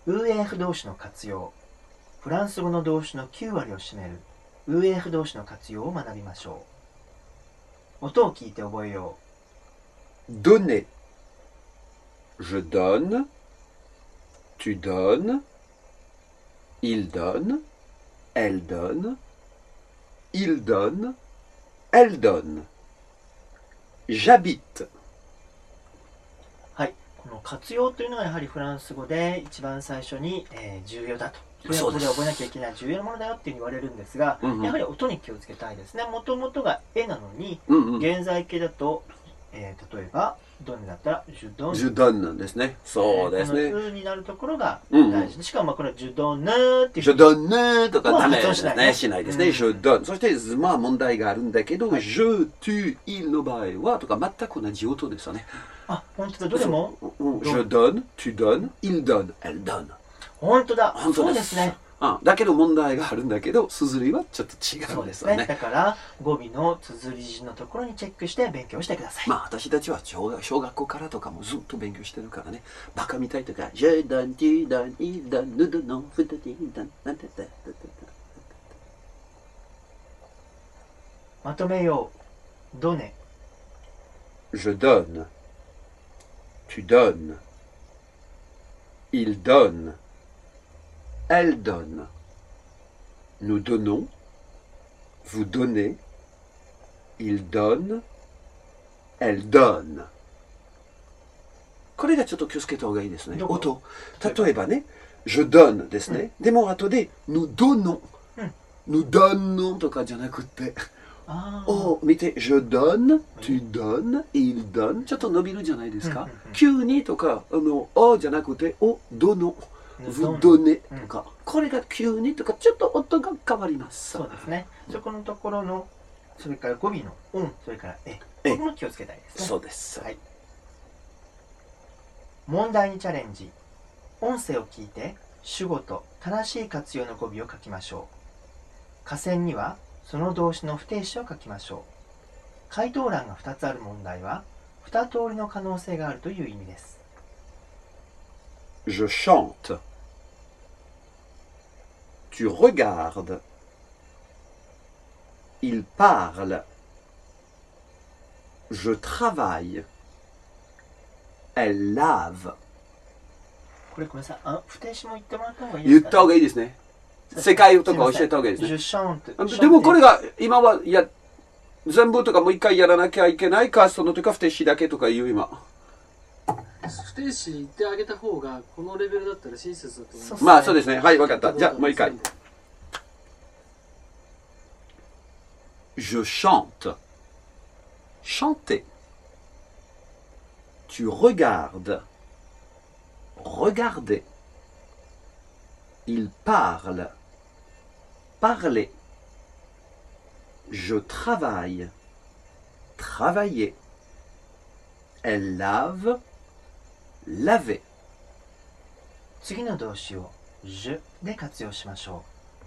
UF 動詞の活用。フランス語の動詞の9割を占める UF 動詞の活用を学びましょう。音を聞いて覚えよう。donner. Je donne. Tu donnes. Il donne. Elle donne. Il donne. Elle donne. J'habite. はい、この活用というのがやはりフランス語で一番最初に、重要だと。これはここで覚えなきゃいけない重要なものだよっていうふうに言われるんですが、やはり音に気をつけたいですね。もともとが絵なのに、現在形だと、例えばドンだったらジュドン。 ジュドンなんですね。そうですね。 このうになるところが大事で、しかもこのジュドンヌーっていう。 ジュドンヌーとかダメですね。しないですね。ジュドン。そして、まあ問題があるんだけど、ジュ、トゥ、イルの場合は、とか全く同じ音ですよね。 あ、本当だ。どれもジュドン、トゥドン、イルドン、エルドン。 本当だ。そうですね。 だけど問題があるんだけど、綴りはちょっと違うんですよね。 だから語尾の綴り順のところにチェックして勉強してください。 まあ私たちは小学校からとかもずっと勉強してるからね。バカみたいとか、ジェダン、ティダン、イダン、ヌドノン、フタティダン、なんて言った。 まとめよう。ドネ。 Je donne. Tu donnes. Il donne. Elle donne. Nous donnons. Vous donnez. Il donne. Elle donne. これがちょっと気をつけた方がいいですね。音。例えばね、je donne ですね。でも後で、nous donnons。nous donnons とかじゃなくて、を見て、je donne, tu donnes, il donne。ちょっと伸びるじゃないですか。急にとか、おじゃなくて、お、どの。vous donnez とか、これが急にとか、ちょっと音が変わります。 そうですね。そこのところの、それから語尾の、それからここも気をつけたいですね。 そうです。 はい。問題にチャレンジ。音声を聞いて、主語と正しい活用の語尾を書きましょう。下線には、その動詞の不定詞を書きましょう。回答欄が2つある問題は、2通りの可能性があるという意味です。 Je chante. Tu regardes. Il parle. Je travaille. Elle lave. これごめんなさい。不定詞も言ってもらった方がいいですか、ね、 言った方がいいですね。世界とか教えた方がいいですね。でもこれが今は全部とかもう一回やらなきゃいけないか、その時は不定詞だけとか言う今。 不定詞言ってあげた方がこのレベルだったら親切だと思います。 まあそうですね。はい、わかった。じゃあもう一回。Je chante. Chanter. Tu regardes. Regarder. Il parle. Parler. Je travaille. Travailler. Elle lave. Laver. 次の動詞を je で活用しましょ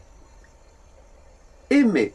う。aimer.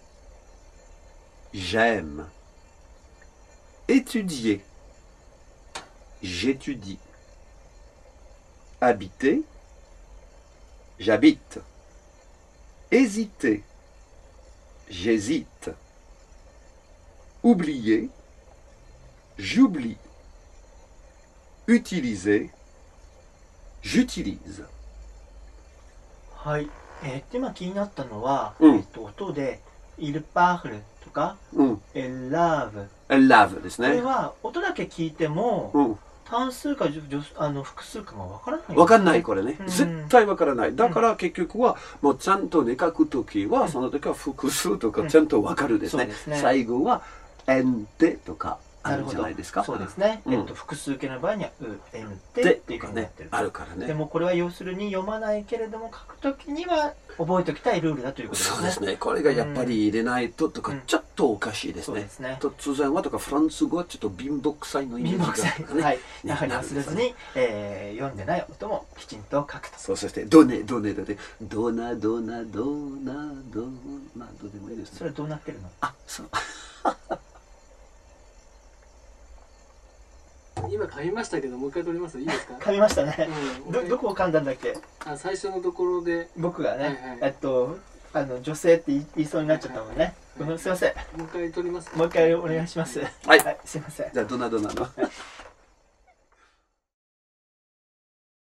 J'aime. Étudier. J'étudie. Habiter. J'habite. Hésiter. J'hésite. Oublier. J'oublie. Utiliser. J'utilise. はい。今気になったのは、音で il parle とか、elle lave。 elle lave ですね。 これは音だけ聞いても、単数か複数かがわからない、 わかんないこれね。絶対わからない。だから結局はもうちゃんとね書くときはその時は複数とかちゃんとわかるですね。最後はエンテとか。あるじゃないですか。 そうですね。複数形の場合にはエンテっていうふうになってる。 あるからね。 でもこれは要するに読まないけれども書くときには覚えておきたいルールだということですね。 そうですね。これがやっぱり入れないととかちょっとおかしいですね。突然はとかフランス語はちょっと貧乏くさいのイメージがね。はい。やはり忘れずに読んでない音もきちんと書くと。 そしてドネドネだってドナドナドナドナどうでもいいですね。 それはどうなってるの？ あ、そう。 い今噛みましたけど、もう一回取ります。いいですか？ 噛みましたね。どこを噛んだんだっけ？ 最初のところで。 僕がね、女性って言いそうになっちゃったもんね。すいません。 もう一回取ります。 もう一回お願いします。 はい。 すいません。 じゃあ、ドナドナの。